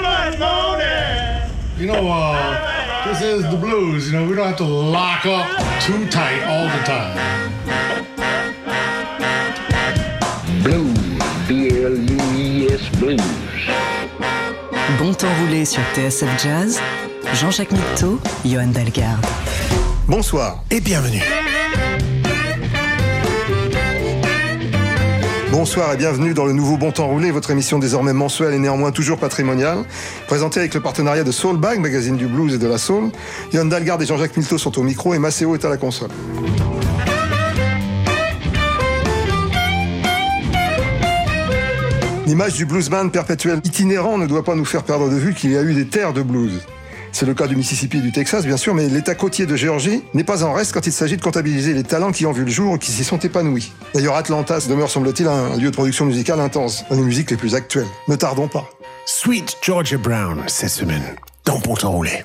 You know, this is the blues. You know, we don't have to lock up too tight all the time. Blues, B-L-U-E-S, blues. Bon temps roulé sur TSF Jazz, Jean-Jacques Milteau, Johan Dalgarde. Bonsoir et bienvenue. Bonsoir et bienvenue dans le nouveau Bon Temps Roulé, votre émission désormais mensuelle et néanmoins toujours patrimoniale, présentée avec le partenariat de Soulbag, magazine du blues et de la soul. Johan Dalgarde et Jean-Jacques Milteau sont au micro et Maceo est à la console. L'image du bluesman perpétuel itinérant ne doit pas nous faire perdre de vue qu'il y a eu des terres de blues. C'est le cas du Mississippi et du Texas, bien sûr, mais l'État côtier de Géorgie n'est pas en reste quand il s'agit de comptabiliser les talents qui ont vu le jour et qui s'y sont épanouis. D'ailleurs, Atlanta demeure, semble-t-il, un lieu de production musicale intense, dans les musiques les plus actuelles. Ne tardons pas. Sweet Georgia Brown, cette semaine, dans Bon Temps Roulé.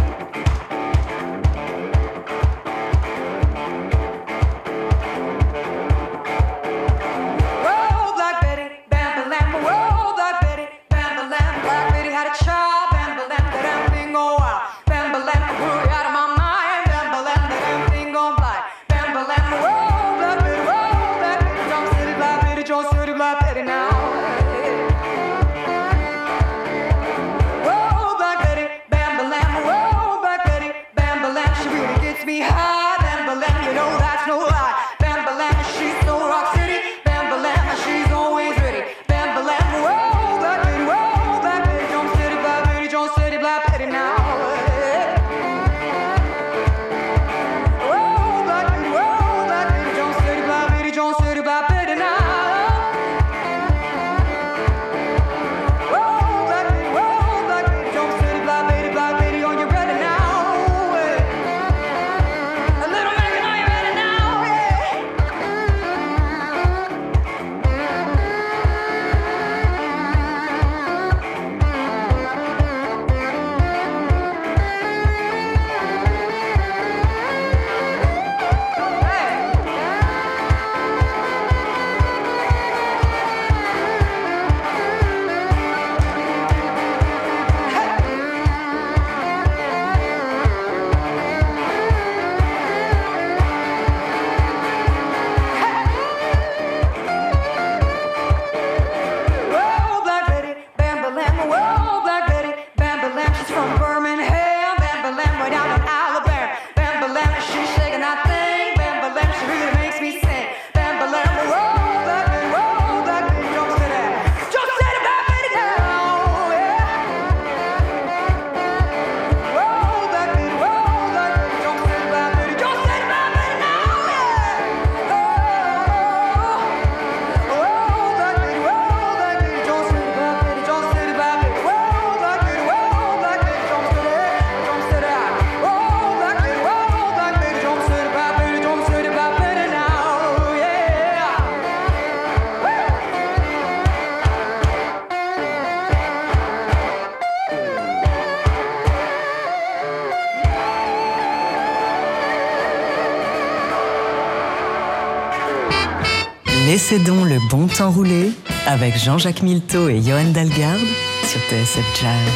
Laissez donc le bon temps rouler avec Jean-Jacques Milteau et Johan Dalgarde sur TSF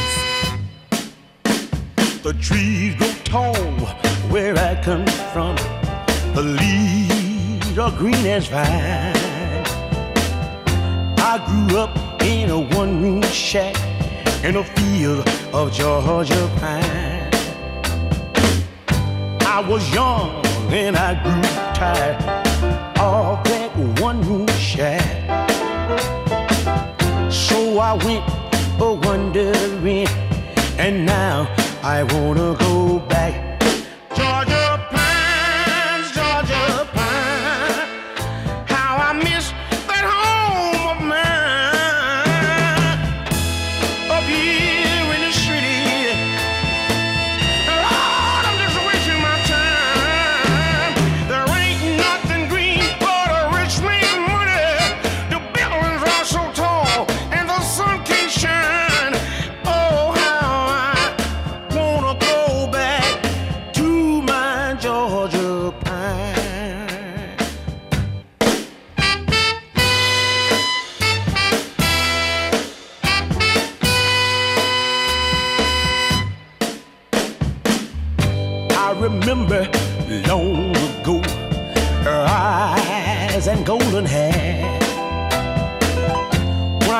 Jazz. The trees grow tall where I come from. The leaves are green as vine. I grew up in a one-room shack in a field of Georgia pine. I was young and I grew tired of that one-room shack. So I went wandering, and now I wanna go back. Georgia pines, Georgia pine. How I miss that home of mine. Up here in the city, Lord, I'm just wasting my time. There ain't nothing green but a rich man money. The buildings are so tall and the sun can't shine. Oh, how I wanna go back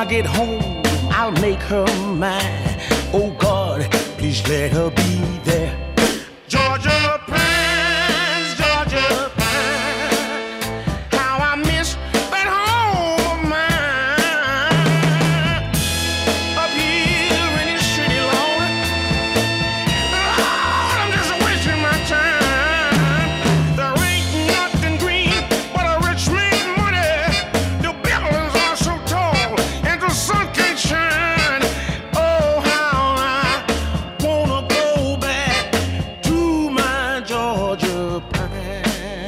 get home, I'll make her mine. Oh God, please let her be there. Georgia pines, Georgia pines. How I miss that home of mine. Up here in this city, Lord, I'm just wasting my time. There ain't nothing green but a rich man's money. The buildings are so tall and the sun can't shine. Oh, how I wanna go back to my Georgia pine.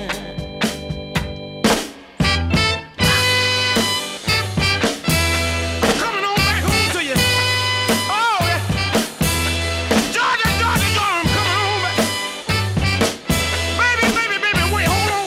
Coming on back home to you. Oh, yeah. Georgia, Georgia, Georgia, I'm coming home back. Baby, baby, baby, wait, hold on.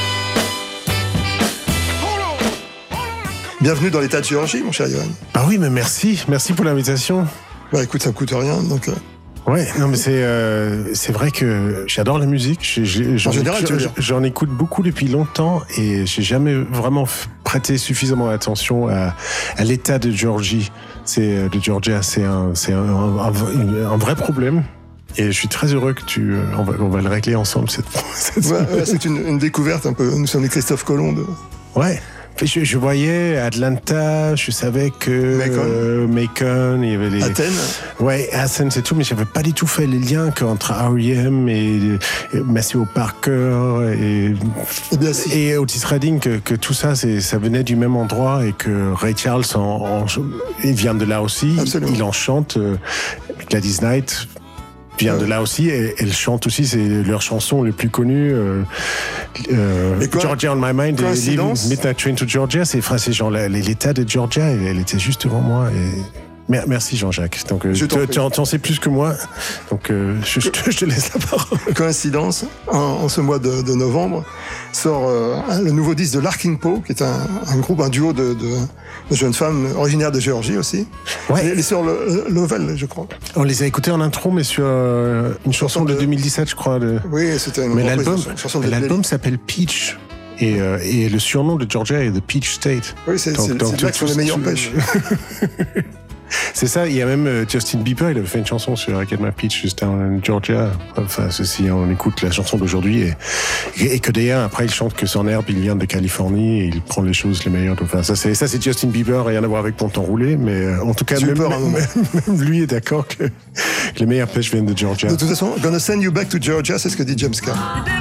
Hold on. Hold on, I'm coming. Bienvenue dans l'État de Géorgie, mon cher Johan. Ah oui, mais merci pour l'invitation. Bah écoute, ça coûte rien, donc... Ouais, non mais c'est vrai que j'adore la musique. En général, tu veux dire. J'en écoute beaucoup depuis longtemps et j'ai jamais vraiment prêté suffisamment attention à l'état de Georgia. C'est un vrai problème. Et je suis très heureux que on va le régler ensemble cette Ouais, c'est une découverte un peu. Nous sommes les Christophe Colomb de... Ouais. Je voyais Atlanta, je savais que Macon, il y avait les... Athènes. Ouais, Athens et tout, mais j'avais pas du tout fait les liens qu'entre R.E.M. et Maceo Parker Eh bien, si. et Otis Redding, que tout ça, ça venait du même endroit et que Ray Charles, il vient de là aussi. Absolument. Il en chante, Gladys Knight vient de là aussi, et elle chante aussi, c'est leur chanson les plus connues, Georgia on My Mind, et Midnight Train to Georgia, c'est genre l'état de Georgia, elle était juste devant moi, et... Merci Jean-Jacques. Donc, tu en sais plus que moi, donc je te laisse la parole. Coïncidence, en ce mois de novembre, sort le nouveau disque de Larkin Poe, qui est un groupe, un duo de jeunes femmes originaires de Géorgie aussi. Ouais. Les sœurs Lovell, je crois. On les a écoutés en intro, mais sur une chanson de 2017, je crois. Oui, c'était une mais chanson de l'album s'appelle Peach. Et le surnom de Georgia est The Peach State. Oui, c'est là que sont les meilleures pêches. C'est ça, il y a même Justin Bieber, il avait fait une chanson sur I Get My Peach Just Down in Georgia. Enfin, ceci, on écoute la chanson d'aujourd'hui et que d'ailleurs, après, il chante que son herbe, il vient de Californie et il prend les choses les meilleures. Enfin, ça, c'est Justin Bieber, rien à voir avec Ponton Roulé, mais en tout cas, même lui est d'accord que les meilleures pêches viennent de Georgia. De toute façon, Gonna Send You Back to Georgia, c'est ce que dit James Carr.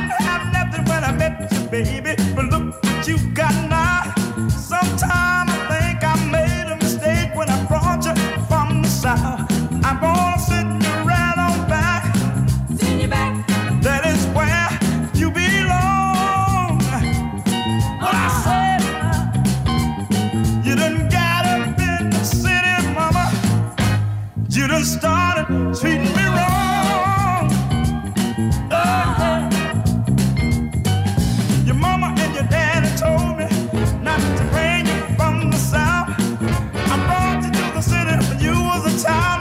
I'm gonna send you right on back. Send you back. That is where you belong. What I said, you done got up in the city, mama. You done started treating me wrong. Your mama and your daddy told me not to bring you from the south. I brought you to the city when you was a child.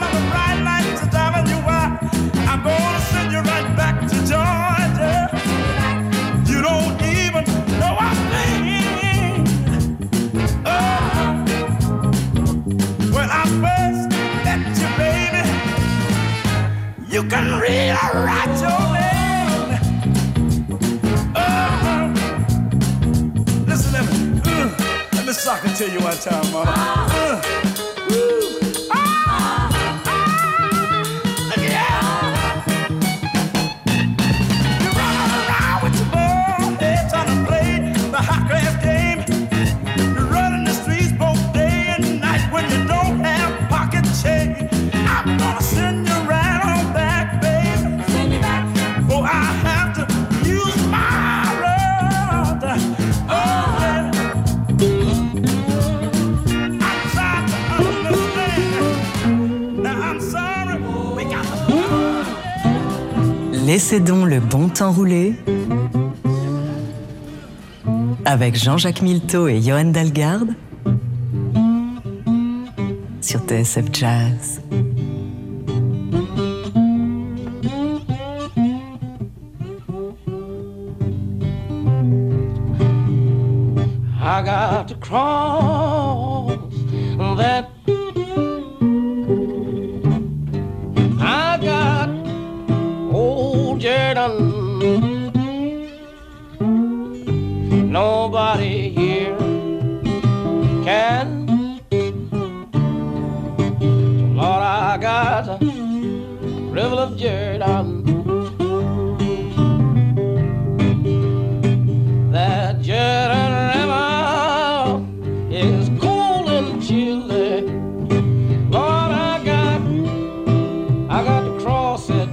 I'm gonna send you right back to Georgia. You don't even know I think. When I first met you, baby, you can read or write your name. Listen, let me suck it to you one time, mama. Laissez donc le bon temps rouler avec Jean-Jacques Milteau et Johan Dalgarde sur TSF Jazz. I got to cross that I got old Jordan. Nobody here can. So Lord, I got a river of Jordan. That Jordan River is cold and chilly. Lord, I got to cross it.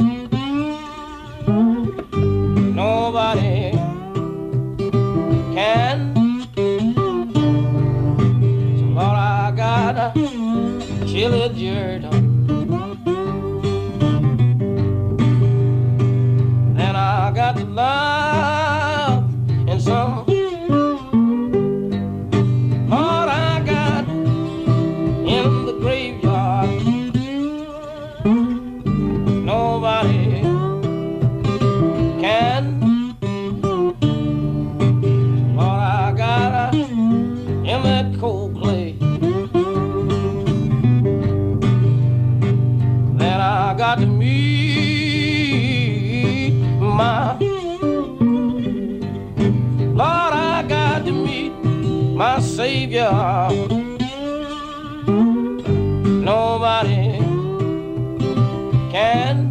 Nobody can. So Lord, I got a chilly Jordan. Then I got to love in some. Lord, I got in the graveyard. Nobody can. Lord, I got in that cold clay. Then I got to meet my. Lord, I got to meet my Savior. Nobody can.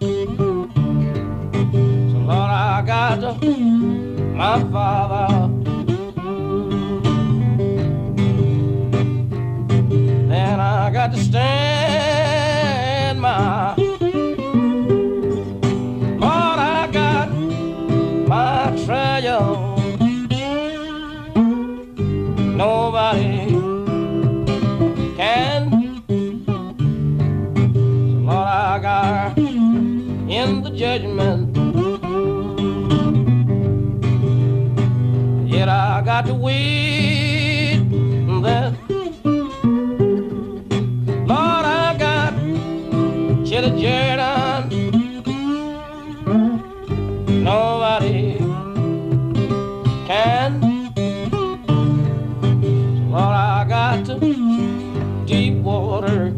So Lord, I got to my Father. Then I got to stand my. Lord, I got my treasure. Nobody can. So Lord, I got in the judgment. Yet I got to wait that. Lord, I got chilly Jordan. Nobody can. Lord, I got to deep water.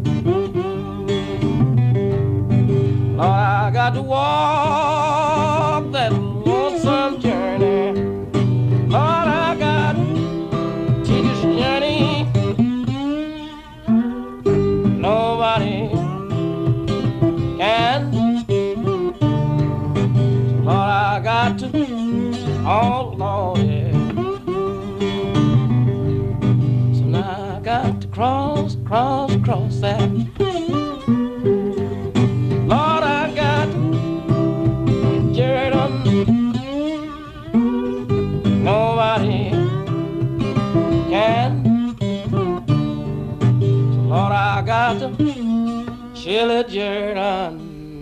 Lord, I got to walk that lonesome journey. Lord, I got to take this journey. Nobody can. Lord, I got to, oh Lord, yeah. Got to cross that. Lord, I got Jordan. Nobody can. So Lord, I got chilly Jordan.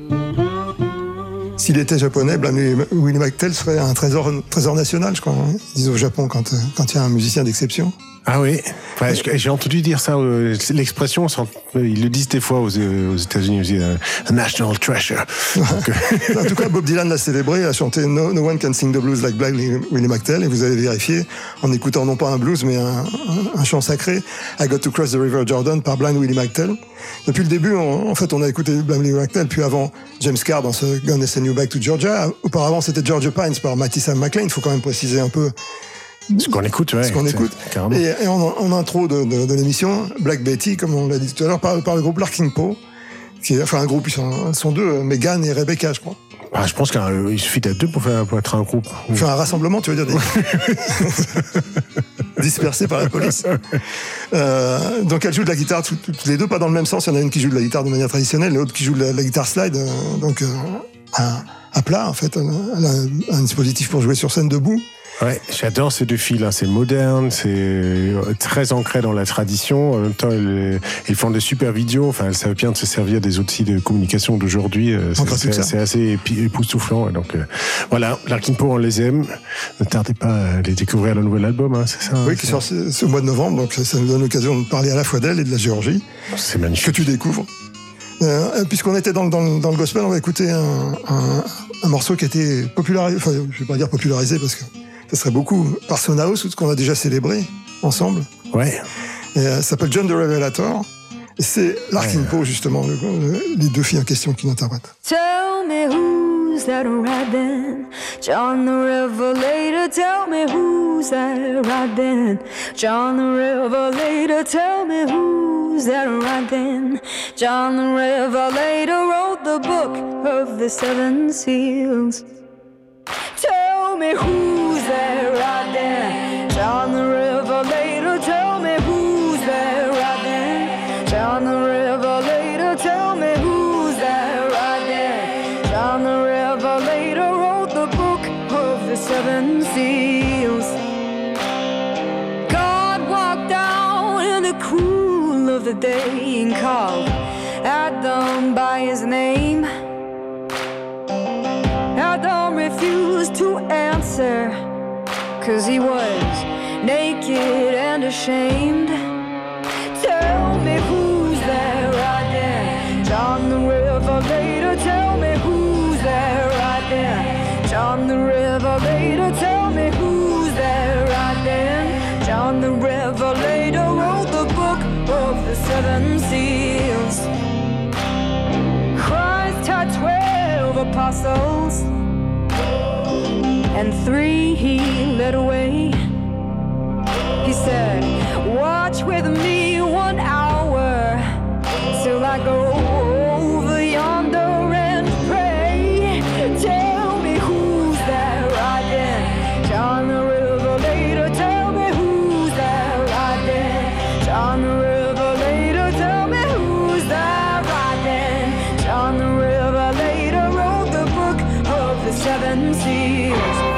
S'il était japonais, Willie McTell serait un trésor national, je crois. Hein, ils disent au Japon quand il y a un musicien d'exception. Ah oui, ouais, j'ai entendu dire ça, l'expression, ils le disent des fois aux États-Unis aussi, a national treasure. Donc, en tout cas, Bob Dylan l'a célébré, a chanté No One Can Sing the Blues Like Blind Willie McTell, et vous avez vérifié en écoutant non pas un blues, mais un chant sacré, I Got to Cross the River Jordan par Blind Willie McTell. Depuis le début, en fait, on a écouté Blind Willie McTell, puis avant James Carr dans ce Gonna Send You Back to Georgia. Auparavant, c'était Georgia Pines par Matty Sam McLean. Il faut quand même préciser un peu ce qu'on écoute, ouais. Ce qu'on écoute. Et en intro de l'émission, Black Betty, comme on l'a dit tout à l'heure, par le groupe Larkin Poe, qui est, enfin un groupe, ils sont deux, Megan et Rebecca, je crois. Ah, je pense qu'il suffit d'être deux pour être un groupe. Faire un rassemblement, tu veux dire, dispersés par la police. Donc elles jouent de la guitare toutes les deux, pas dans le même sens. Il y en a une qui joue de la guitare de manière traditionnelle, l'autre qui joue de la guitare slide, donc à plat, en fait. Elle a un dispositif pour jouer sur scène debout. Ouais, j'adore ces deux filles, hein. C'est moderne, c'est très ancré dans la tradition. En même temps, ils font de super vidéos. Enfin, elles savent bien de se servir des outils de communication d'aujourd'hui. C'est assez époustouflant. Donc voilà, Larkin Poe, on les aime. Ne tardez pas à les découvrir, le nouvel album. Hein, c'est ça. Oui, qui sort ce mois de novembre. Donc ça nous donne l'occasion de parler à la fois d'elle et de la Géorgie. C'est magnifique. Que tu découvres. Puisqu'on était dans le gospel, on va écouter un morceau qui a été popularisé. Enfin, je vais pas dire popularisé parce que ça serait beaucoup par Son House, tout ce qu'on a déjà célébré ensemble. Ouais. Ça s'appelle John the Revelator. Et c'est Larkin Poe, justement, les deux filles en question qui l'interprètent. Tell me who's that riding? John the Revelator, tell me who's that riding? John the Revelator, tell me who's that riding? John the Revelator wrote the book of the seven seals. Tell me who's that riding? John the Revelator, tell me who's that riding? John the Revelator, tell me who's that riding? John the Revelator wrote the book of the seven seals. God walked down in the cool of the day and called Adam by his name. Adam refused to answer, 'cause he was naked and ashamed. Tell me who's that riding? John the Revelator, tell me who's that riding? John the Revelator, tell me who's that riding? John the Revelator wrote the book of the seven seals. Christ had 12 apostles, and 3 he led away. He said, watch with me 1 hour till I go over yonder and pray. Tell me who's that riding? John the Revelator, tell me who's that riding? John the Revelator, tell me who's that riding? John the Revelator wrote the book of the seven seals.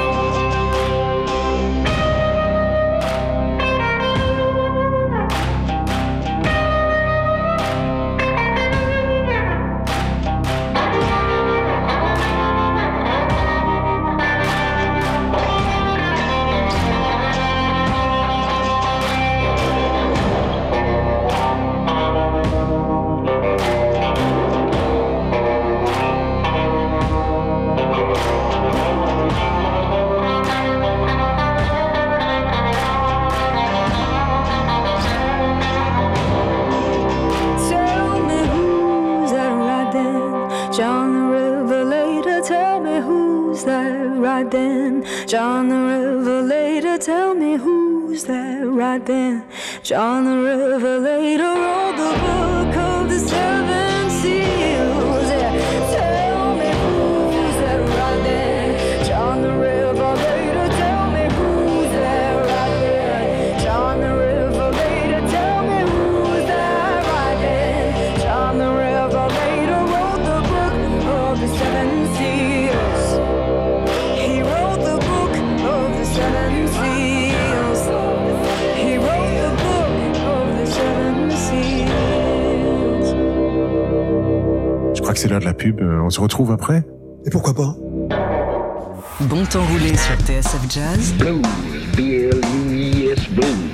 John the Revelator, tell me who's that riding? John the Revelator wrote the book of the seven seals. Yeah. Tell me who's that riding? John the Revelator, tell me who's that riding? John the Revelator, tell me who's that riding? John the Revelator wrote the book of the seven seals. He wrote the book of the seven seals. He wrote the book of the seven seals. Je crois que c'est l'heure de la pub. On se retrouve après. Et pourquoi pas? Bon temps roulé sur TSF Jazz. Blues, B-L-U-E-S, blues.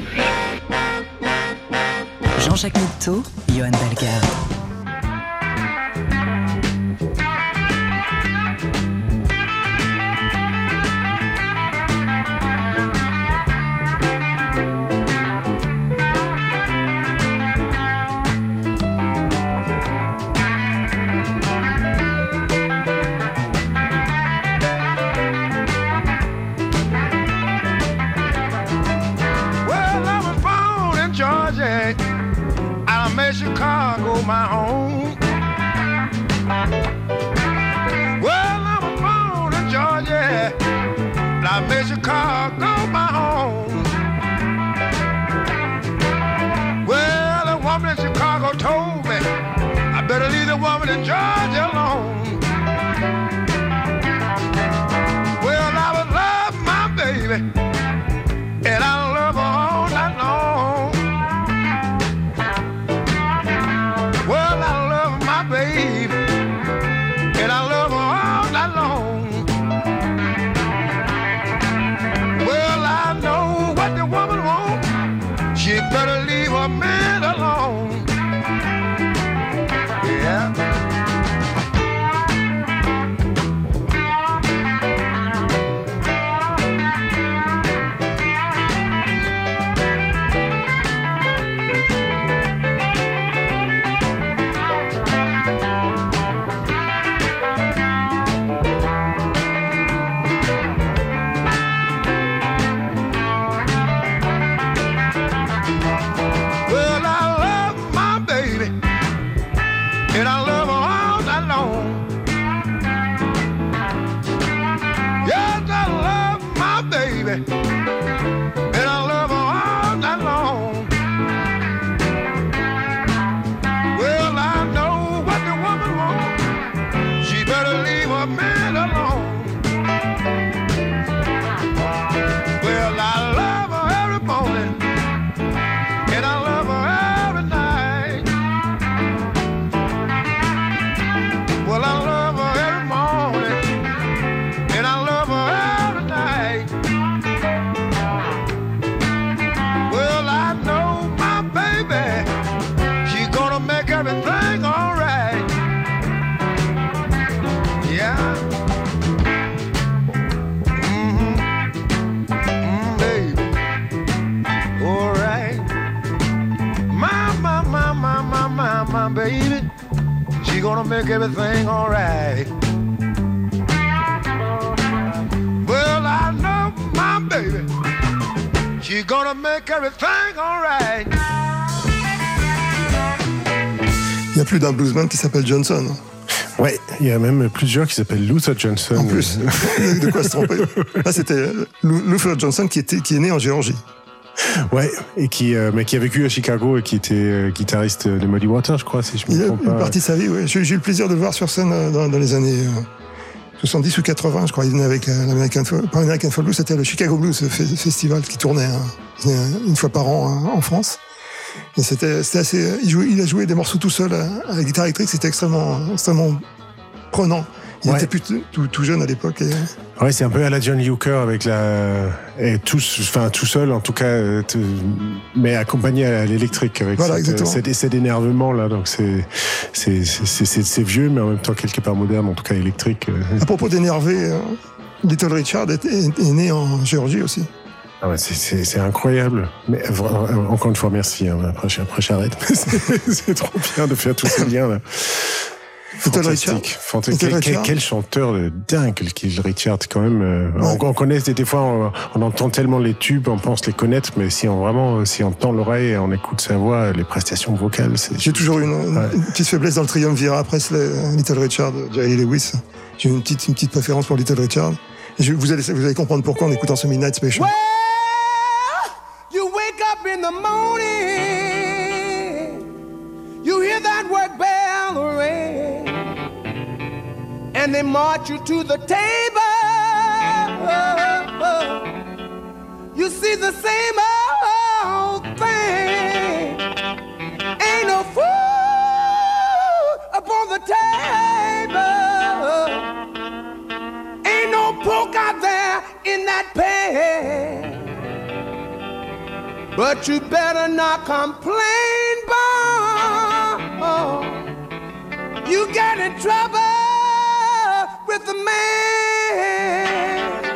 Jean-Jacques Milteau, Johan Dalgarde. Well, I was born in Georgia. I made Chicago my home. Well, I was born in Georgia. I made Chicago my home. Well, a woman in Chicago told me I better leave the woman in Georgia alone. Well, I would love my baby, and I love her all night long. Well, I love my baby, and I love her all night long. Well, I know what the woman wants. She better leave her man alone. Yeah. and I love her all night long. Yes, I love my baby, and I love her all night long. Well, I know what the woman wants. She better leave her man alone. Well, I love her every morning, and I love her every night. Well, I love her every morning, and I love her every night. Well, I know my baby, she's gonna make everything alright. Yeah. Baby. Alright. My baby, she gonna make everything alright. Well, I know my baby, she gonna make everything alright. Il y a plus d'un bluesman qui s'appelle Johnson. Ouais, il y a même plusieurs qui s'appellent Luther Johnson. En plus, de quoi se tromper. Là, c'était Luther Johnson qui est né en Géorgie. Ouais, et mais qui a vécu à Chicago et qui était guitariste de Muddy Waters, je crois, si je me trompe pas. Une partie de sa vie, oui. J'ai eu le plaisir de le voir sur scène dans les années 70 ou 80, je crois. Il venait avec l'American Folk Blues, c'était le Chicago Blues Festival qui tournait une fois par an en France. Et c'était assez. Il a joué des morceaux tout seul à la guitare électrique, c'était extrêmement prenant. Il était plus tout jeune à l'époque. Ouais, c'est un peu à la John Hooker avec tout seul en tout cas, mais accompagné à l'électrique avec cet énervement là. Donc c'est vieux, mais en même temps quelque part moderne, en tout cas électrique. À propos d'énerver, Little Richard est né en Géorgie aussi. Ah ouais, c'est incroyable. Mais encore une fois, merci. Après j'arrête. C'est trop bien de faire tous ces liens là. Fantastique. Quel chanteur de dingue, Little Richard, quand même. Ouais. On connaît des fois, on entend tellement les tubes, on pense les connaître, mais si on tend l'oreille et on écoute sa voix, les prestations vocales, J'ai toujours eu une petite faiblesse dans le triumvirat Presley, Little Richard, Jerry Lewis. J'ai une petite préférence pour Little Richard. Et vous allez comprendre pourquoi en écoutant ce Midnight Special. Well, you wake up in the morning, you hear that work bell ring, and they march you to the table. You see the same old thing. Ain't no food upon the table. Ain't no pork out there in that pan. But you better not complain, boy. You get in trouble with the man.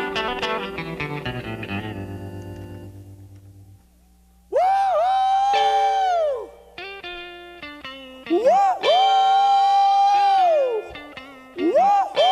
Woo-hoo! Woo-hoo! Woo-hoo!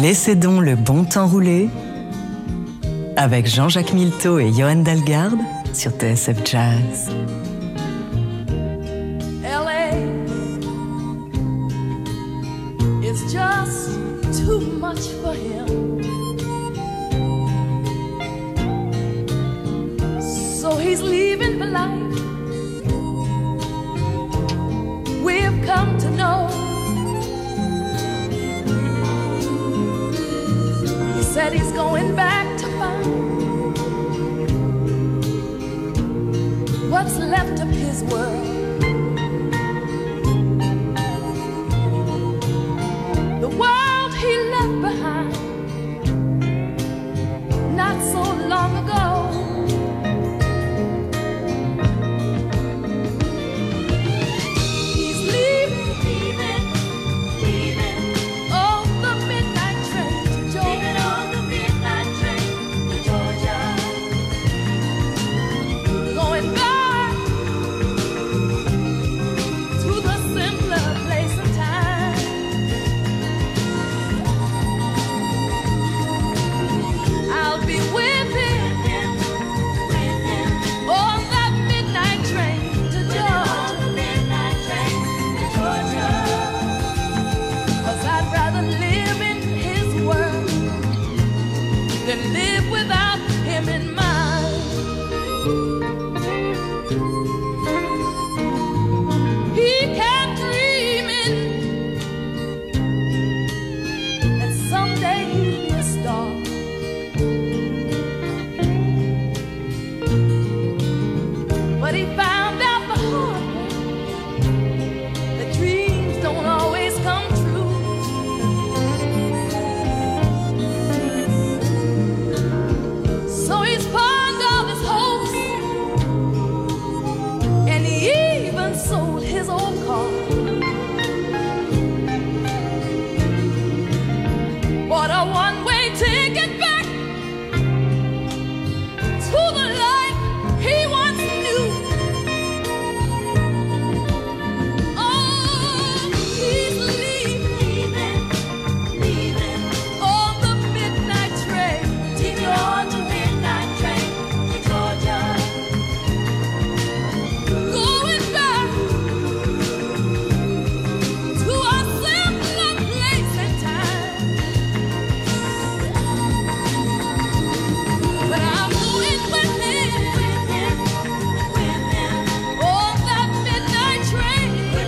Laissez donc le bon temps rouler avec Jean-Jacques Milteau et Johan Dalgarde sur TSF Jazz. LA is just too much for him. So he's leaving for life. We've come to know. He said he's going back to find what's left of his world. The world he left behind not so long ago. He's leaving on the midnight train to Georgia. Going back to the simpler place and time. I'll be with him on that midnight train to Georgia. 'Cause I'd rather live in his world than live without him in mine. He kept dreaming that someday he'd be a star. But he found out the hard way that dreams don't always come true. So he's pawned all his hopes, and he even sold his old car. Bought a one-way ticket back to the life he once knew. Oh, he's leaving on the midnight train to Georgia. Going back to a simpler place and time. But I'm going with him on that midnight train to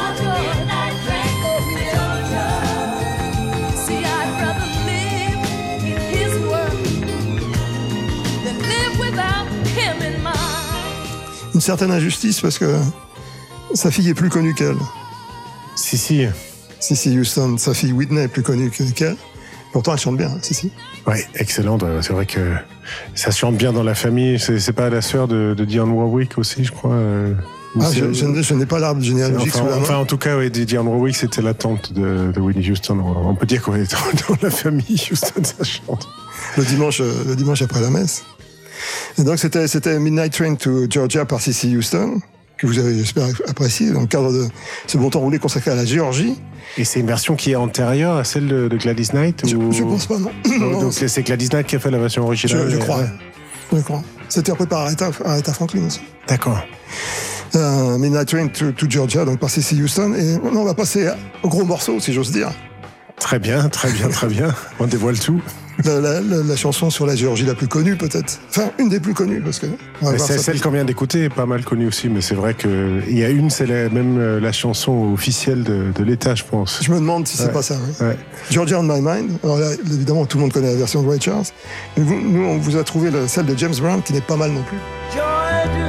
Georgia. See, I'd rather live in his world than live without him in mine. Une certaine injustice parce que sa fille est plus connue qu'elle. Si. Cissy Houston, sa fille Whitney est plus connue qu'elle. Pourtant, elle chante bien, Cissy. Ouais, excellente. C'est vrai que ça chante bien dans la famille. C'est pas la sœur de Dionne Warwick aussi, je crois. Ou Ah, c'est- je n'ai pas l'arbre généalogique sous la main. Enfin, en tout cas, ouais, Dionne Warwick, c'était la tante de Whitney Houston. On peut dire qu'on est dans la famille Houston, ça chante. le dimanche après la messe. Et donc, c'était Midnight Train to Georgia par Cissy Houston, que vous avez, j'espère, apprécié dans le cadre de ce bon temps roulé consacré à la Géorgie. Et c'est une version qui est antérieure à celle de Gladys Knight Je ou... pense pas, non. Non, Donc c'est Gladys Knight qui a fait la version originale. je et- crois. ouais. Je crois. C'était repris par Aretha Franklin aussi. D'accord. Midnight Train to Georgia, donc par Cissy Houston. Et maintenant, on va passer au gros morceau, si j'ose dire. Très bien. On dévoile tout. La chanson sur la Géorgie la plus connue, peut-être. Enfin, une des plus connues, parce que... on va Mais voir c'est ça celle plus- qu'on vient d'écouter, est pas mal connue aussi, mais c'est vrai qu'il y a une, c'est même la chanson officielle de l'État, je pense. Je me demande si c'est Ouais. pas ça. Oui. Ouais. Georgia on My Mind. Alors là, évidemment, tout le monde connaît la version de Ray Charles. Mais nous, on vous a trouvé celle de James Brown, qui n'est pas mal non plus. Georgia.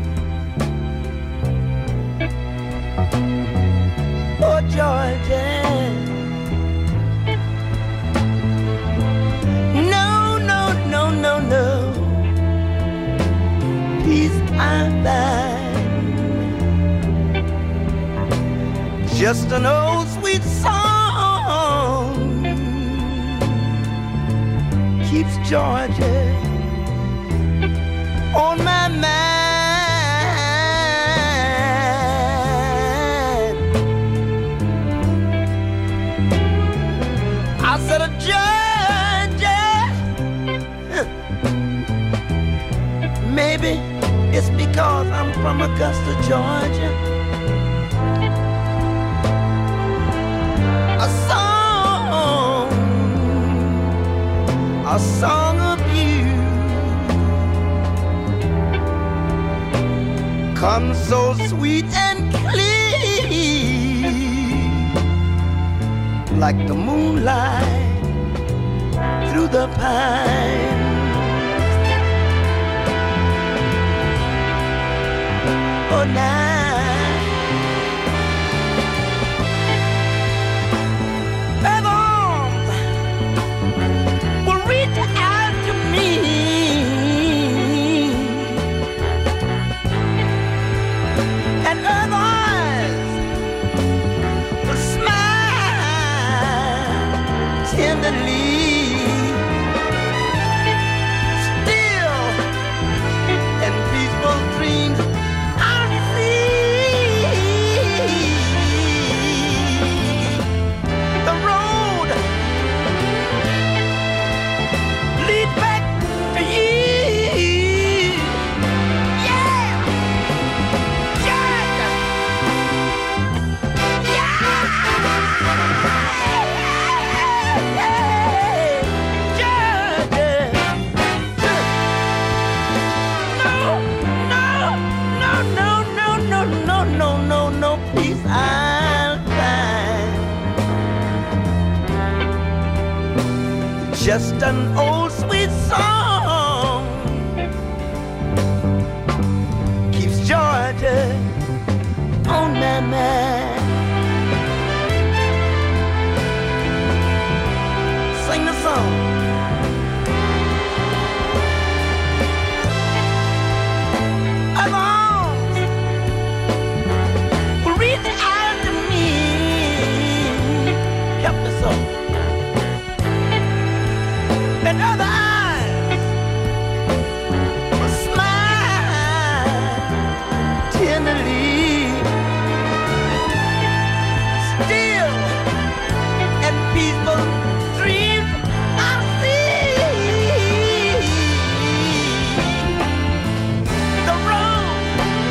Oh, Georgia. No. Peace I'm fine. Just an old sweet song keeps Georgia on my mind. I said, Georgia. 'cause I'm from Augusta, Georgia. A song of you comes so sweet and clear, like the moonlight through the pines. Oh, now just an old sweet song keeps Georgia on my mind. Sing the song. As arms will reach out to me, help me so. And other eyes will smile tenderly, still and peaceful dreams I'll see. The road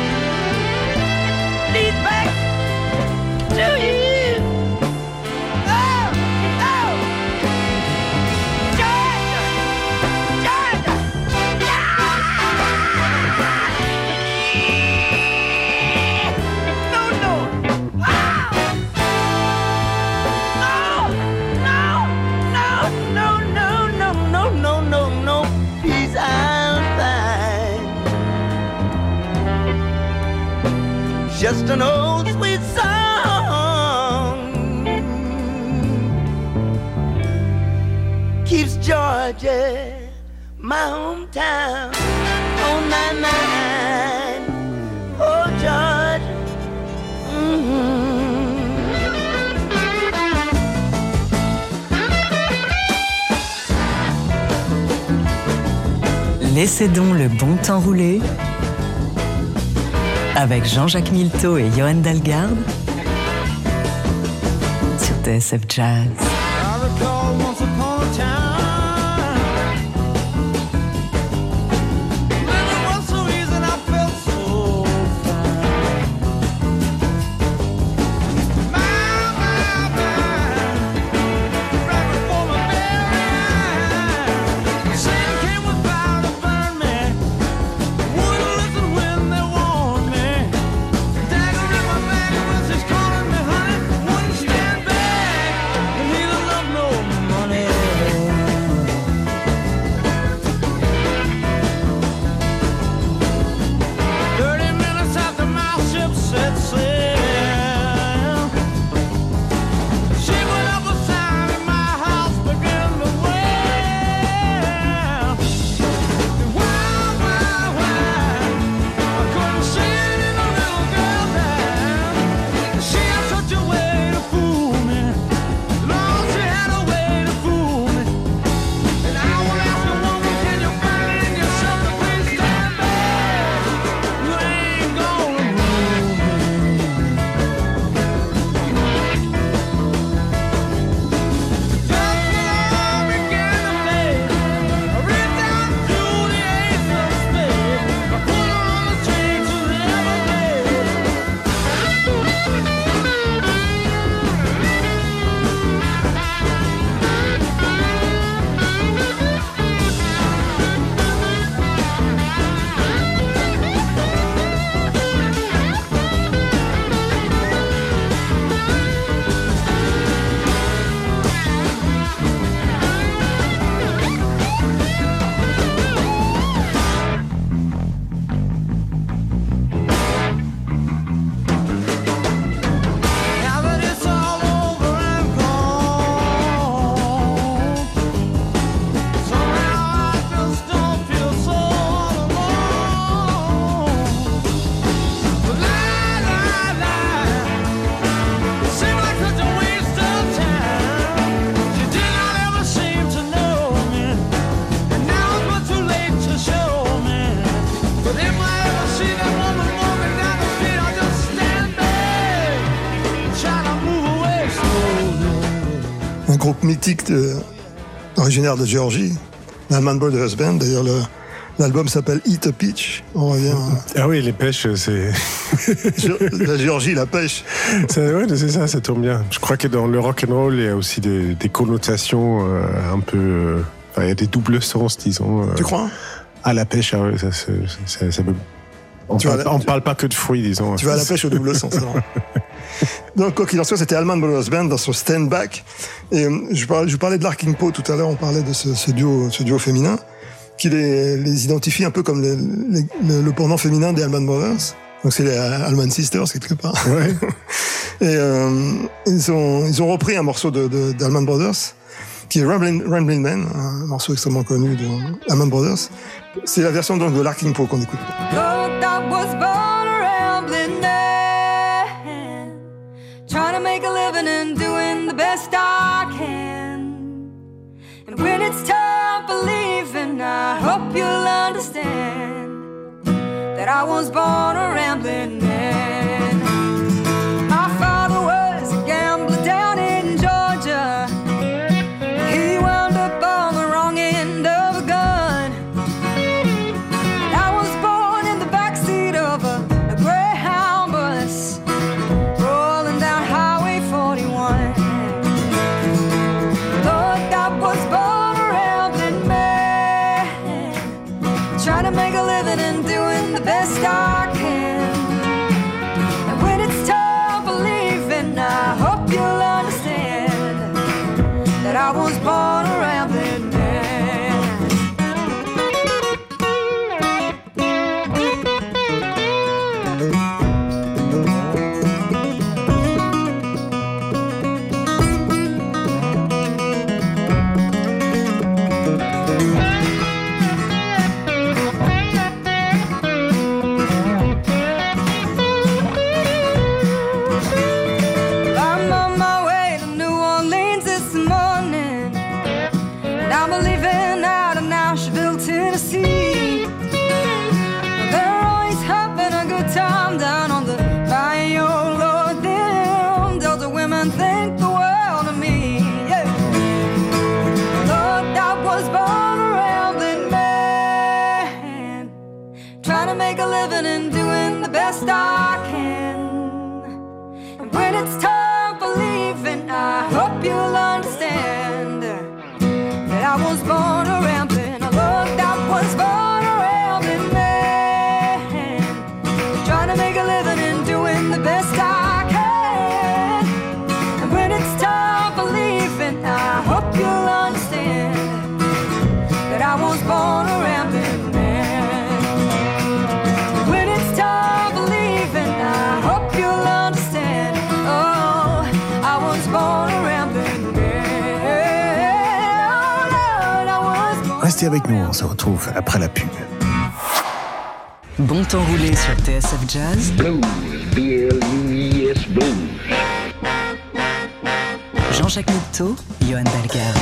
leads back to you. Just an old sweet song keeps Georgia, my hometown, on my mind. Oh, Georgia. Laissez donc le bon temps rouler avec Jean-Jacques Milteau et Johan Dalgarde sur TSF Jazz. groupe mythique originaire de Géorgie, l'Allman Brothers Band. D'ailleurs, l'album s'appelle Eat a Peach. On revient Ah oui, les pêches, c'est... la Géorgie, la pêche. Ouais, c'est ça, ça tombe bien. Je crois que dans le rock and roll, il y a aussi des connotations un peu... Enfin, il y a des doubles sens, disons. Tu crois? À la pêche, ah ouais, ça peut... On parle pas que de fruits, disons. Tu vas à la pêche au double sens. Donc, quoi qu'il en soit, c'était Allman Brothers Band dans son Stand Back. Et je parlais de Larkin Poe tout à l'heure, on parlait de ce duo féminin, qui les identifie un peu comme le pendant féminin des Allman Brothers. Donc c'est les Allman Sisters, quelque part. Ouais. Et ils ont repris un morceau d'Allman Brothers, qui est Ramblin' Man, un morceau extrêmement connu de Allman Brothers. C'est la version donc de Larkin Poe qu'on écoute. Look, I was born a rambling man, trying to make a living and doing the best I can. And when it's time for leaving, I hope you'll understand that I was born a rambling man. My father was a gambler down in Georgia. He wound up on the wrong end of a gun. I was born in the backseat of a Greyhound bus, rolling down Highway 41. Lord, I was born a rambling man, trying to make a living and doing the best I can. And when it's time for leaving, I hope you'll understand that I was born a rambling man. I'm on my way to New Orleans this morning, and I'm leaving out of Nashville, Tennessee. They're always having a good time down on the bayou, Lord. Them Delta women think the world of me. Yeah. Lord, I was born a rambling man, trying to make a living and doing the best I can. And when it's time for leaving, I hope you'll understand that I was born a rambling. Look, I was born a rambling man, trying to make a living and doing the best I can. And when it's time for leaving, I hope you'll understand that I was born a rambling man. When it's time for leaving, I hope you'll understand. Oh, I was born a rambling man. Oh, Lord, I was born. Restez avec nous, on se retrouve après la pub. Bon temps roulé sur TSF Jazz. Blues, B-L-U-E-S, blues. Jean-Jacques Milteau, Johan Dalgarde.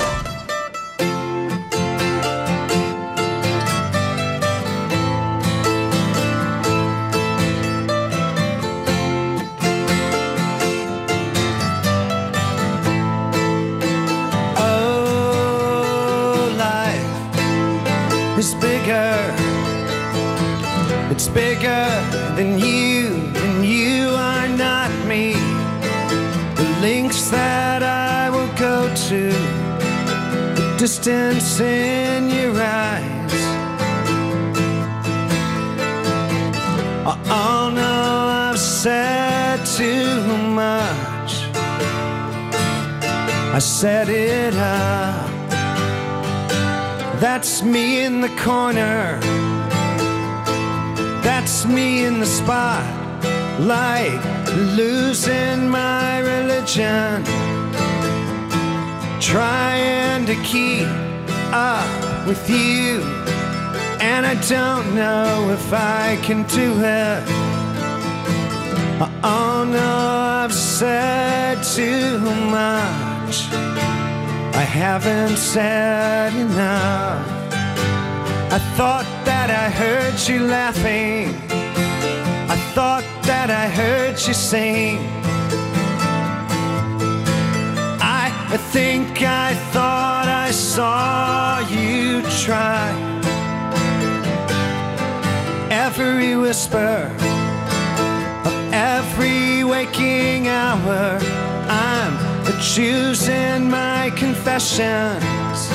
Oh, life is bigger. It's bigger than you are not me. The lengths that I will go to, the distance in your eyes. Oh no, I've said too much. I set it up. That's me in the corner. That's me in the spotlight, losing my religion, trying to keep up with you, and I don't know if I can do it. Oh no, I've said too much. I haven't said enough. I thought that I heard you laughing. I thought that I heard you sing. I think I thought I saw you try. Every whisper of every waking hour, I'm choosing my confessions,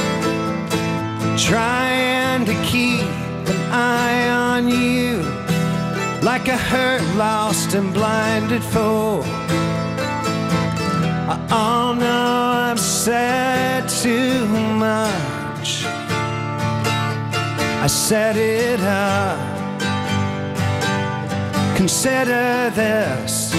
trying to keep an eye on you, like a hurt, lost and blinded fool. Oh no, I've said too much. I set it up. Consider this,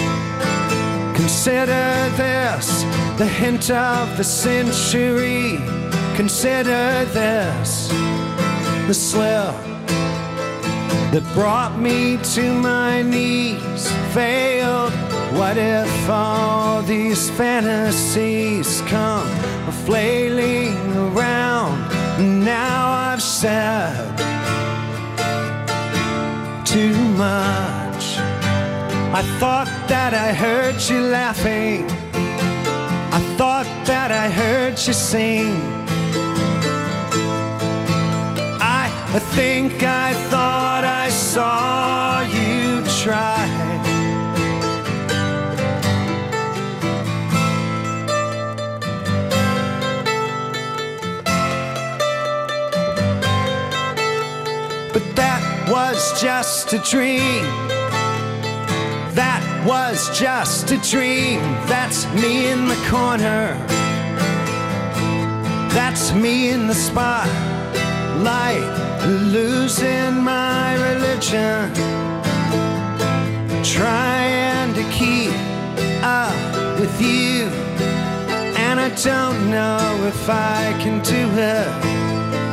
the hint of the century. Consider this, the slip that brought me to my knees. Failed. What if all these fantasies come flailing around? Now I've said too much. I thought that I heard you laughing. I thought that I heard you sing. I think I thought I saw you try. But that was just a dream. That was just a dream. That's me in the corner. That's me in the spotlight, losing my religion, trying to keep up with you, and I don't know if I can do it.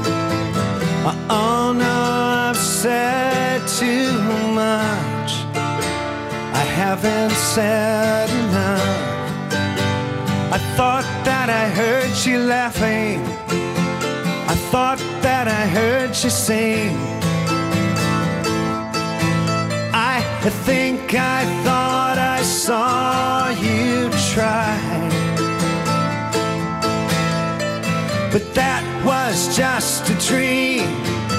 Oh no, I've said too much. I haven't said enough. I thought that I heard you laughing. I thought that I heard you sing. I think I thought I saw you try. But that was just a dream.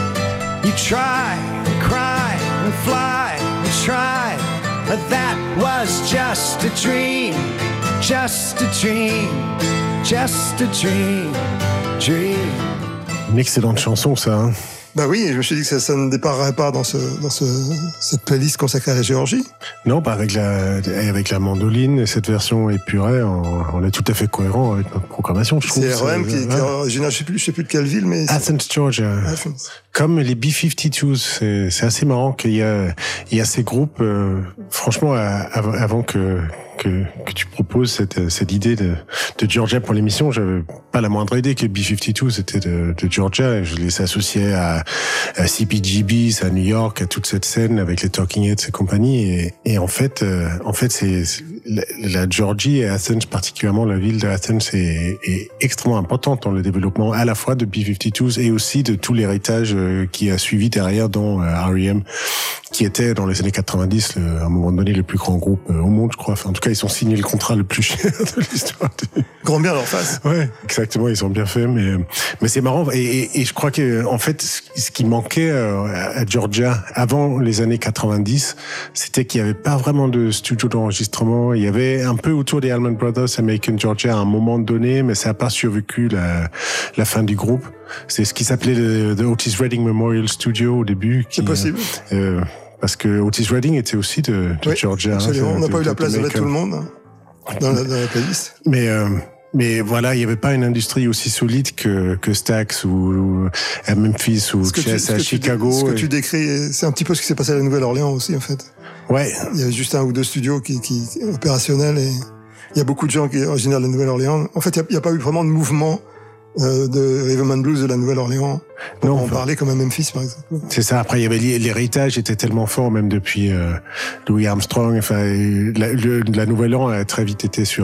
You try and cry and fly and try. But that was just a dream. Just a dream. Just a dream. Dream. Une excellente chanson, ça. Hein. Bah oui, je me suis dit que ça ne déparerait pas dans cette playlist consacrée à la Géorgie. Non, bah avec la mandoline et cette version épurée, on est tout à fait cohérent avec notre programmation, je trouve. C'est REM qui est original, je sais plus de quelle ville, mais... Athens, Georgia. Comme les B-52s, c'est assez marrant qu'il y a ces groupes, franchement, avant que tu proposes cette idée de Georgia pour l'émission, j'avais pas la moindre idée que B-52 c'était de Georgia. Je les associais à CPGBs, à New York, à toute cette scène avec les Talking Heads et compagnie. Et en fait, c'est la Georgie et Athens, particulièrement la ville de Athens, est extrêmement importante dans le développement à la fois de B-52s et aussi de tout l'héritage qui a suivi derrière, dont R.E.M., qui était dans les années 90, à un moment donné, le plus grand groupe au monde, je crois. Enfin, en tout cas, ils ont signé le contrat le plus cher de l'histoire. Grand bien leur face. Ouais, exactement, ils ont bien fait, mais c'est marrant. Et je crois que, en fait, ce qui manquait à Georgia avant les années 90, c'était qu'il n'y avait pas vraiment de studio d'enregistrement. Il y avait un peu autour des Allman Brothers, American Georgia, à un moment donné, mais ça n'a pas survécu la fin du groupe. C'est ce qui s'appelait le Otis Redding Memorial Studio au début. C'est possible. Parce que Otis Redding était aussi de Georgia. Absolument. On n'a pas eu la place de mettre tout le monde dans la playlist. Mais voilà, il n'y avait pas une industrie aussi solide que Stax ou à Memphis ou à Chicago. Ce que tu décris, c'est un petit peu ce qui s'est passé à la Nouvelle-Orléans aussi, en fait. Ouais. Il y avait juste un ou deux studios qui opérationnels et il y a beaucoup de gens qui sont originaires de la Nouvelle-Orléans. En fait, il n'y a pas eu vraiment de mouvement de Rhythm and Blues de la Nouvelle-Orléans. On en parlait comme à Memphis, par exemple. C'est ça. Après, il y avait l'héritage était tellement fort, même depuis Louis Armstrong. Enfin, la Nouvelle-Orléans a très vite été sur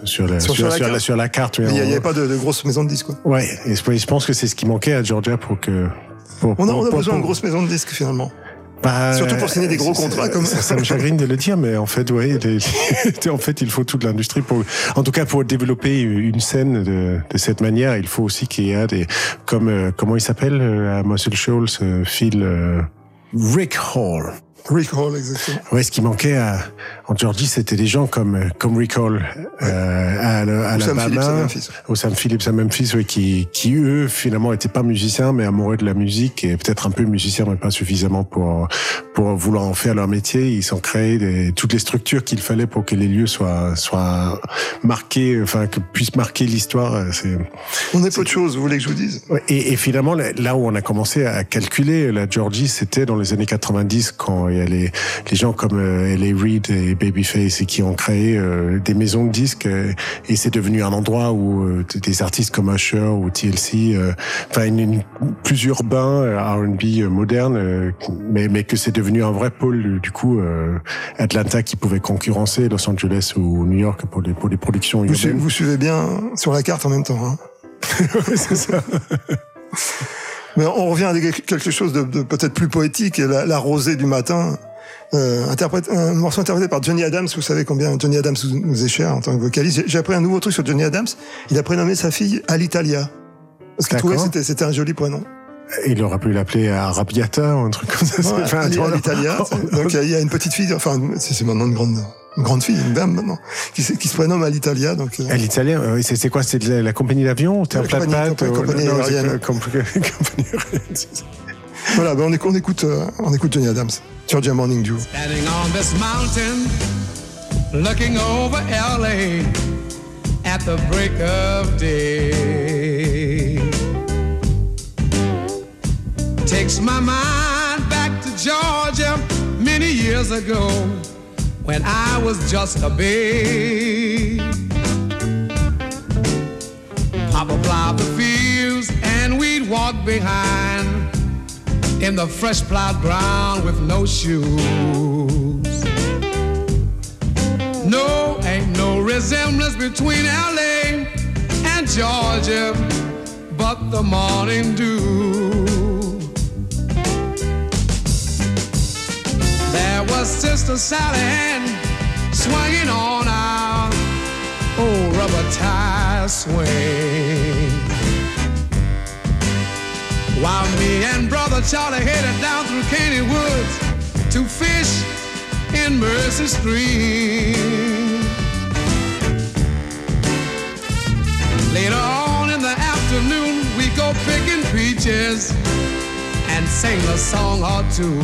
la carte. Il n'y avait pas de grosses maisons de disques, quoi. Ouais. Et je pense que c'est ce qui manquait à Georgia pour que. On a besoin de grosses maisons de disques, finalement. Surtout pour signer des gros contrats comme ça. Ça me chagrine de le dire, mais en fait, ouais, en fait, il faut toute l'industrie en tout cas, pour développer une scène de cette manière, il faut aussi qu'il y ait comme, comment il s'appelle, à Muscle Shoals, Phil, Rick Hall. Rick Hall, exactement. Ouais, ce qui manquait en Georgie, c'était des gens comme Rick Hall à Alabama, au Sam Phillips à Memphis, ouais, qui eux finalement étaient pas musiciens mais amoureux de la musique et peut-être un peu musiciens mais pas suffisamment pour vouloir en faire leur métier. Ils ont créé toutes les structures qu'il fallait pour que les lieux soient marqués, enfin que puissent marquer l'histoire. On est peu de choses, vous voulez que je vous dise? Et finalement, là où on a commencé à calculer la Georgie, c'était dans les années 90 quand il y a les gens comme L.A. Reid et Babyface et qui ont créé des maisons de disques et c'est devenu un endroit où des artistes comme Usher ou TLC, enfin plus urbain, R&B moderne, mais que c'est devenu un vrai pôle du coup Atlanta qui pouvait concurrencer Los Angeles ou New York pour les productions urbaines. Vous suivez bien sur la carte en même temps, hein. C'est ça. Mais on revient à quelque chose de peut-être plus poétique, la rosée du matin. Un morceau interprété par Johnny Adams. Vous savez combien Johnny Adams nous est cher en tant que vocaliste. J'ai appris un nouveau truc sur Johnny Adams. Il a prénommé sa fille Alitalia. Parce qu'il trouvait que c'était un joli prénom. Il aurait pu l'appeler Arabiata ou un truc comme ça. Ouais, Alitalia. Donc il y a une petite fille, enfin c'est maintenant une grande fille, une dame maintenant, qui se prénomme Alitalia. Donc Alitalia, c'est quoi? C'est de la compagnie d'avion? T'es un plat de pâtes? Compagnie aérienne. Voilà, ben on écoute Johnny Adams. Georgia Morning Dew. Standing on this mountain, looking over LA at the break of day. Takes my mind back to Georgia many years ago when I was just a babe. Papa plowed the fields and we'd walk behind in the fresh plowed ground with no shoes. No, ain't no resemblance between LA and Georgia, but the morning dew. There was Sister Sally Ann swinging on our old rubber tire swing, while me and Brother Charlie headed down through Caney Woods to fish in Mercy Stream. Later on in the afternoon, we go picking peaches and sing a song or two.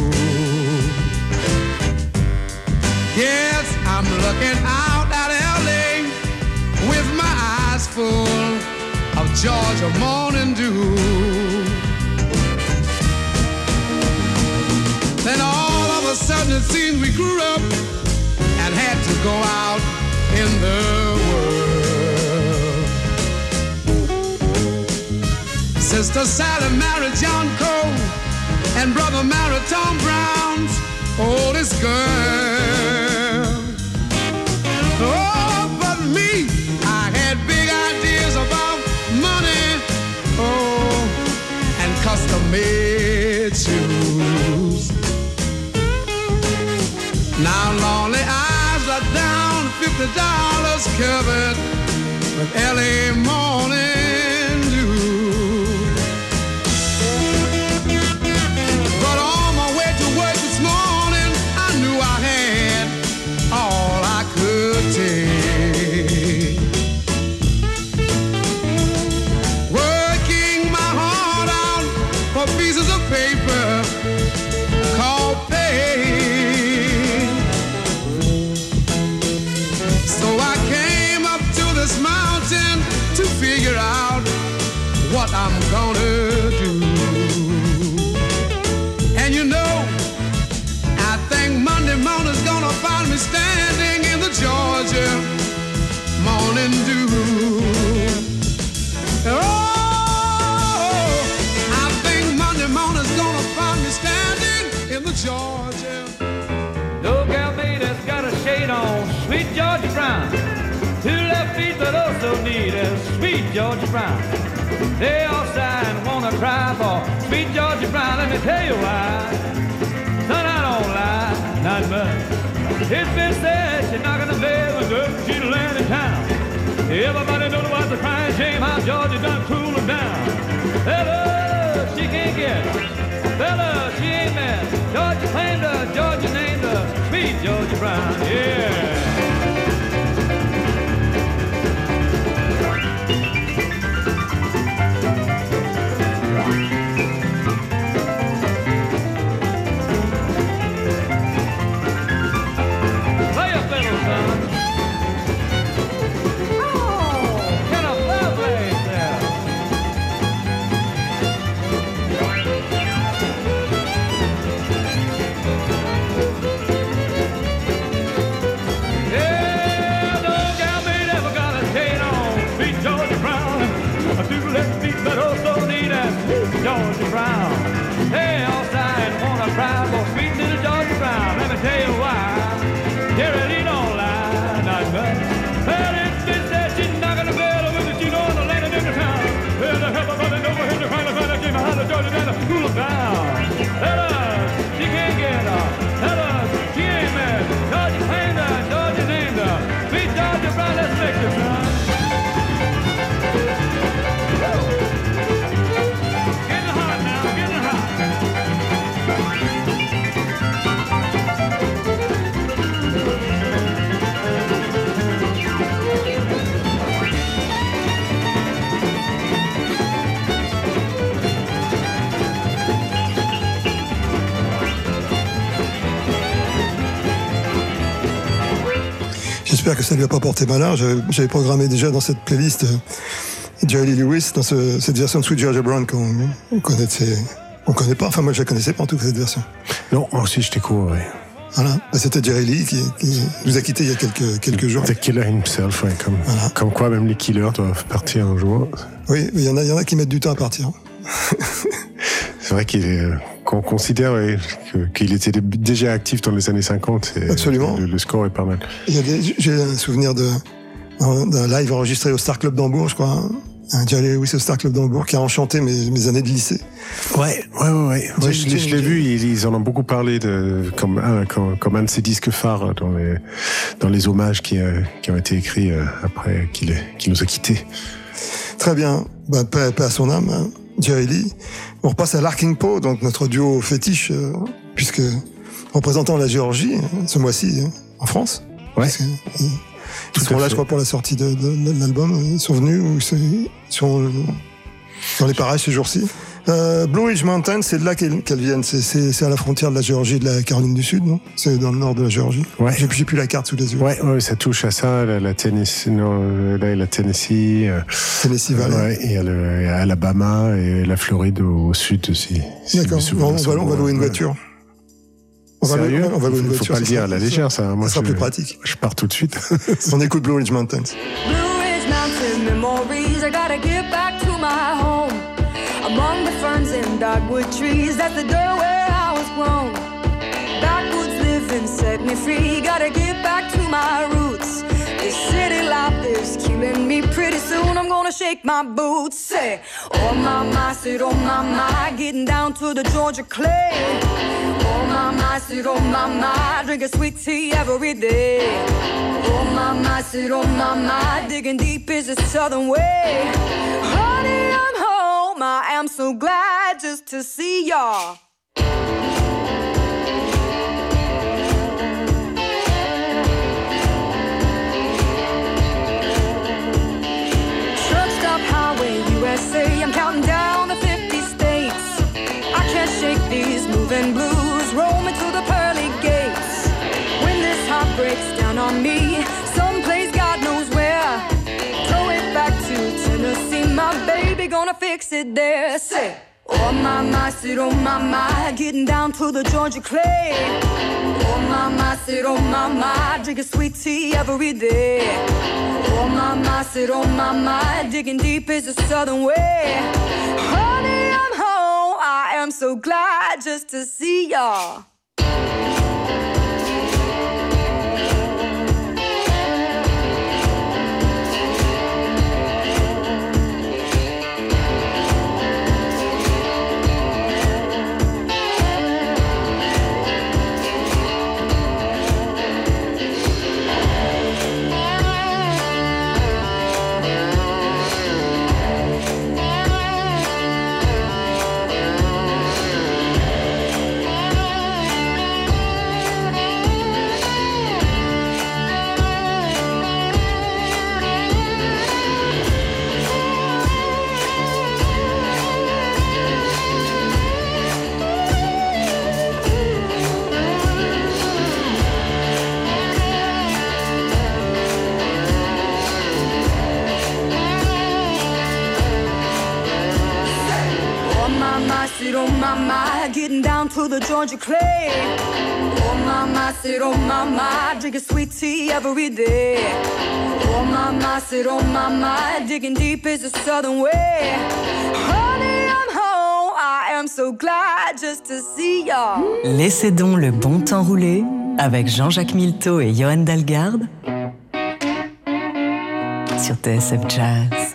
Yes, I'm looking out at LA with my eyes full of Georgia morning dew. Then all of a sudden it seemed we grew up and had to go out in the world. Sister Sally married John Cole and Brother married Tom Brown's oldest girl. Oh, but me, I had big ideas about money, oh, and custom-made shoes. Now lonely eyes are down $50 covered with LA morning dew. But on my way to work this morning, I knew I had all I could take. Working my heart out for pieces of paper called pay. So I came up to this mountain to figure out what I'm gonna do. And you know, I think Monday morning's gonna find me standing in the Georgia morning dew. Oh, I think Monday morning's gonna find me standing in the Georgia. No gal made has got a shade on, sweet Georgia Brown. Two left feet but also need a sweet Georgia Brown. They all sigh and wanna cry for sweet Georgia Brown. Let me tell you why. Son, It's been said she's not gonna play with good, she's the land in town. Everybody knows what's a crying shame how Georgia done cool her down. Fella, she can't get it. Fella, she ain't mad. Georgia claimed her, Georgia named her, sweet Georgia Brown, yeah. Georgia Brown. Hey, outside wanna cry for sweet little Georgia Brown. Let me tell you why. Jerry Lee don't lie, not much. Well, it's been said she's not gonna fail with it. She know the land in the town. Well, the help of brother over here to find a came out of Georgia down to cool her down. Tell us she can't get her. Tell us she ain't mad. Georgia claimed her, Georgia named her. Sweet Georgia Brown, let's make it, son. J'espère que ça lui a pas porté malheur. J'avais programmé déjà dans cette playlist Jerry Lee Lewis dans cette version de Sweet Georgia Brown qu'on connaît pas. Enfin, moi, je la connaissais pas en tout cas cette version. Non, moi aussi, j'étais court, oui. Voilà, c'était Jerry Lee qui nous a quittés il y a quelques jours. The Killer himself, ouais, comme quoi même les killers doivent partir un jour. Oui, il y en a qui mettent du temps à partir. C'est vrai qu'on considère qu'il était déjà actif dans les années 50. Absolument. Le score est pas mal. J'ai un souvenir d'un live enregistré au Star Club d'Hambourg, je crois. Un Jerry Lewis au Star Club d'Hambourg qui a enchanté mes années de lycée. Ouais, je l'ai vu, ils en ont beaucoup parlé comme un de ses disques phares dans les hommages qui ont été écrits après qu'il nous a quittés. Très bien, paix à son âme, hein, Jerry Lee. On repasse à Larking Poe, donc notre duo fétiche, puisque représentant la Géorgie ce mois-ci en France. Ouais. Ils sont là, je crois, pour la sortie de l'album. Ils sont venus ou ils sont dans les parages ces jours-ci. Blue Ridge Mountain, c'est de là qu'elles viennent. C'est à la frontière de la Géorgie et de la Caroline du Sud, non? C'est dans le nord de la Géorgie. Ouais. J'ai plus la carte sous les yeux. Ouais, ça touche à ça. La Tennessee, la Tennessee. Tennessee Valley. Ouais, et à Alabama et la Floride au sud aussi. D'accord. On va louer une voiture. Sérieux? On va louer une voiture. Faut pas le dire à la légère, ça. Moi, ça sera plus pratique. Je pars tout de suite. On écoute Blue Ridge Mountains. Blue Ridge Mountain memories, I gotta get back to my home. Among the ferns and dogwood trees, that's the dirt where I was grown. Backwoods living set me free, gotta get back to my roots. This city life is killing me, pretty soon I'm gonna shake my boots. Say, oh my, said oh my, getting down to the Georgia clay. Oh my, said oh my, drinking sweet tea every day. Oh my, said oh my, digging deep is the southern way. Honey, I'm home, I am so glad just to see y'all. Truck stop highway USA, I'm counting down the 50 states. I can't shake these moving blues, roaming to the pearly gates. When this heart breaks down on me, someplace God knows where, throw it back to Tennessee, my baby gonna fix it there. Say, oh my, said oh my, getting down to the Georgia clay. Oh my, said oh my, drinking sweet tea every day. Oh my, said oh my, digging deep is the southern way. Honey, I'm home, I am so glad just to see y'all. my, getting down to the Georgia clay. Oh my, said oh my, drinking sweet tea every day. Oh my, said oh my, digging deep is the southern way. Honey, I'm home, I am so glad just to see ya. Laissez donc le bon temps rouler avec Jean-Jacques Milteau et Johan Dalgarde sur TSF Jazz.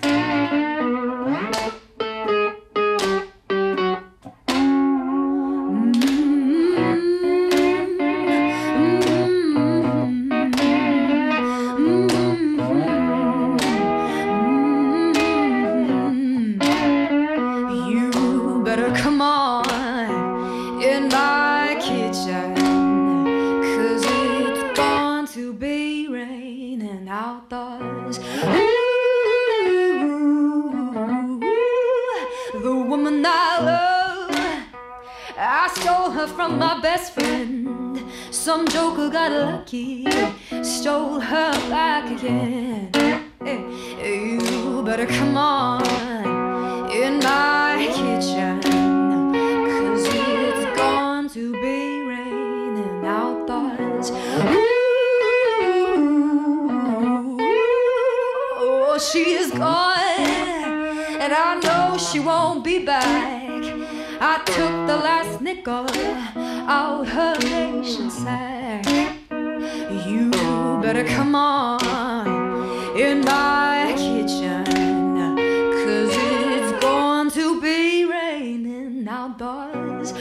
From my best friend, some joker got lucky, stole her back again. You better come on in my kitchen, 'cause it's going to be raining outdoors. Oh, she is gone, and I know she won't be back. I took the last nickel out her nation sack. You better come on in my kitchen, 'cause it's going to be raining outdoors.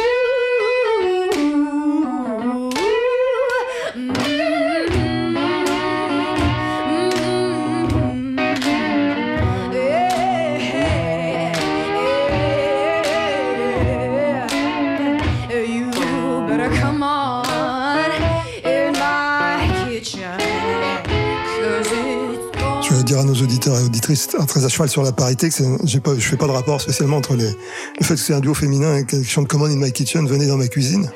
Dire à nos auditeurs et auditrices très à cheval sur la parité que je fais pas de rapport spécialement entre le fait que c'est un duo féminin et qui chante Come on in my kitchen, venez dans ma cuisine.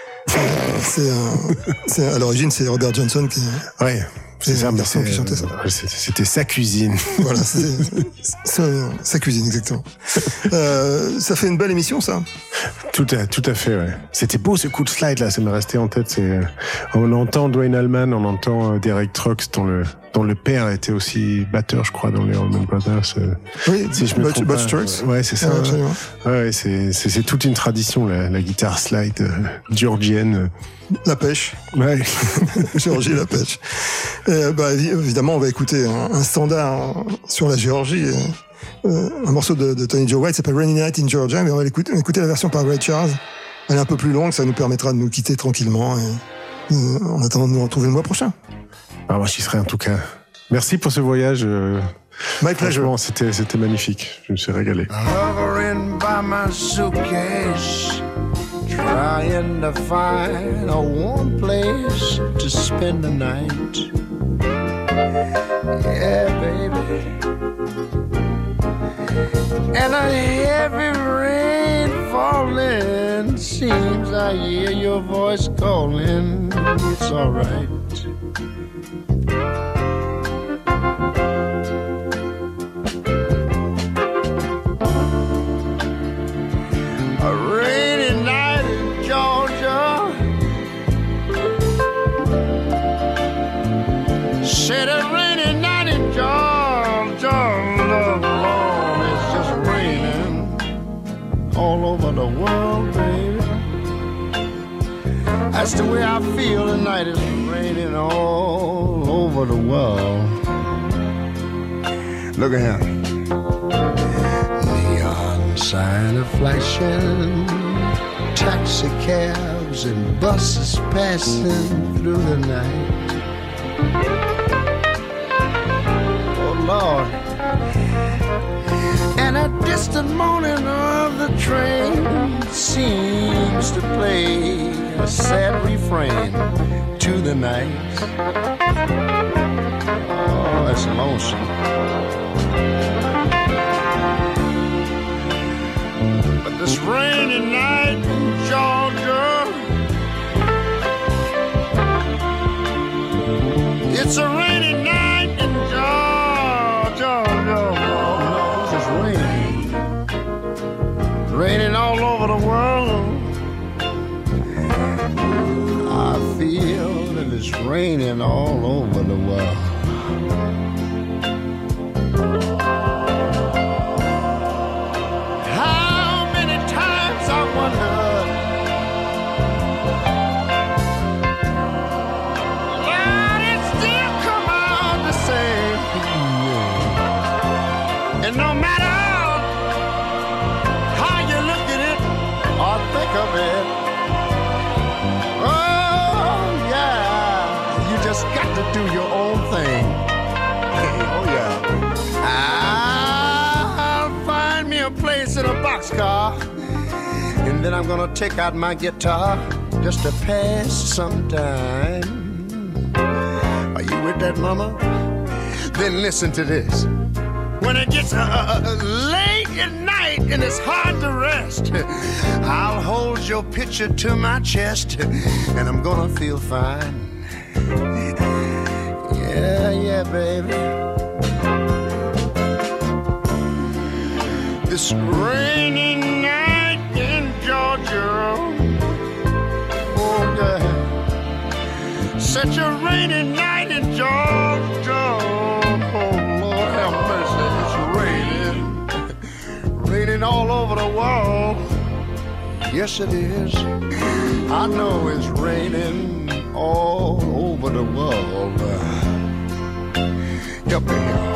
À l'origine, c'est Robert Johnson qui. Ouais. C'est ça, garçon qui chantait ça. C'était sa cuisine. Voilà, sa cuisine, exactement. Ça fait une belle émission, ça. Tout à fait, ouais. C'était beau ce coup de slide là, ça m'est resté en tête. On entend Dwayne Allman, on entend Derek Trucks, dont le père était aussi batteur, je crois, dans les Allman Brothers. Oui, si je me trompe pas. Trucks. Ouais, c'est ça. Ouais, c'est toute une tradition, la guitare slide georgienne. La pêche. Ouais. Géorgie, la pêche. Évidemment, on va écouter un standard sur la Géorgie. Un morceau de Tony Joe White s'appelle Rainy Night in Georgia, mais on va écouter la version par Ray Charles. Elle est un peu plus longue, ça nous permettra de nous quitter tranquillement en attendant de nous retrouver le mois prochain. Ah, moi, j'y serai en tout cas. Merci pour ce voyage. My pleasure. C'était magnifique. Je me suis régalé. Hovering by my suitcase, trying to find a warm place to spend the night. Yeah, baby. And a heavy rain falling, seems I hear your voice calling. It's alright. A rainy night in Georgia, said a rainy night in Georgia, Lord, it's just raining all over the world, baby. That's the way I feel tonight, it's raining all over the world. Look at him. Neon sign of flashing, taxi cabs and buses passing through the night. Oh Lord. And a distant moaning of the train seems to play a sad refrain to the night. Oh, that's lonesome. But this rainy night in Georgia, it's a rainy night in Georgia. Oh, no, it's just raining. Raining all over the world. I feel that it's raining all over the world. How many times I wondered, but it still come out the same. And no matter how you look at it or think of it, oh yeah, you just got to do your own thing. Oh yeah. I'll find me a place in a boxcar, and then I'm gonna take out my guitar just to pass some time. Are you with that, mama? Then listen to this. When it gets late at night and it's hard to rest, I'll hold your picture to my chest and I'm gonna feel fine. Yeah, yeah, baby. This rainy night in Georgia, oh yeah, such a rainy night in Georgia. Raining all over the world. Yes, it is. I know it's raining all over the world. Help me here.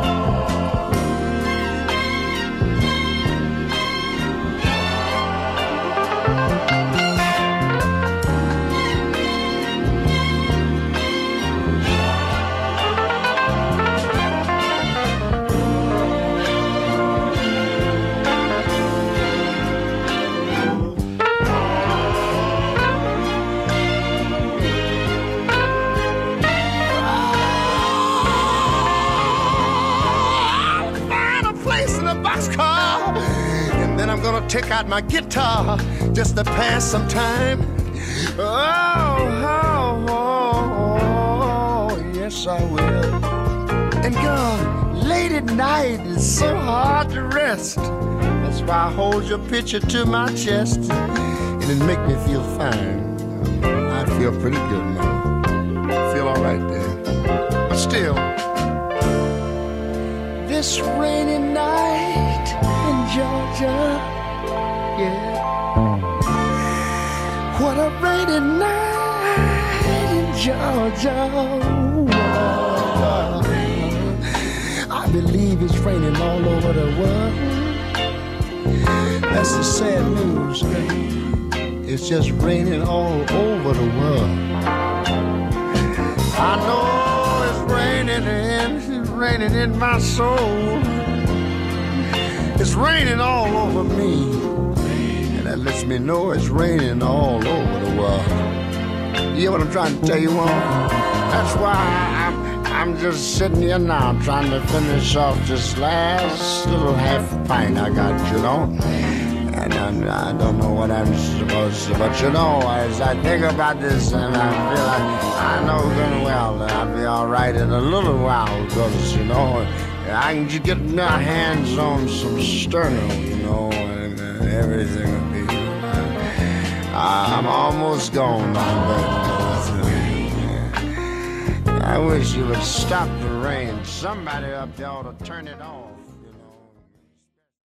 Take out my guitar just to pass some time. Oh, yes I will. And girl, late at night it's so hard to rest. That's why I hold your picture to my chest, and it make me feel fine. I feel pretty good now. I feel all right there. But still, this rainy night in Georgia. Yeah. What a rainy night in Georgia. I believe it's raining all over the world. That's the sad news. It's just raining all over the world. I know it's raining in my soul. It's raining all over me. That lets me know it's raining all over the world. You hear what I'm trying to tell you, Mom? That's why I'm just sitting here now trying to finish off this last little half pint I got, you know. And I don't know what I'm supposed to, but you know, as I think about this and I feel like I know good well that I'll be all right in a little while because, you know, I can just get my hands on some sterno, you know, and everything will be. I'm almost gone now, but I wish you would stop the rain. Somebody up there ought to turn it on.